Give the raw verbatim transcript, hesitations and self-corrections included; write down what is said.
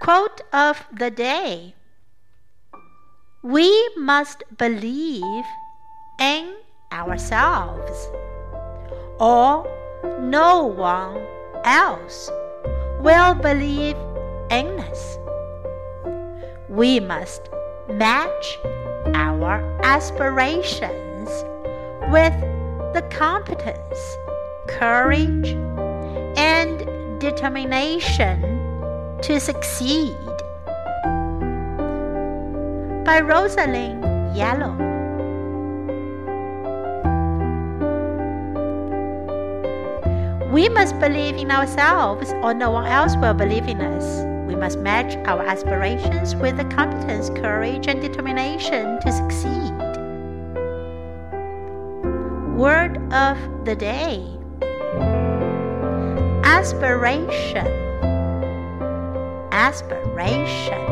Quote of the day: We must believe in ourselves, or no one else will believe in us. We must match our aspirations with the competence, courage, and determination to succeed. By Rosalind Yellow. We must believe in ourselves, or no one else will believe in us. We must match our aspirations with the competence, courage, and determination to succeed. Word of the day: aspiration. Aspiration.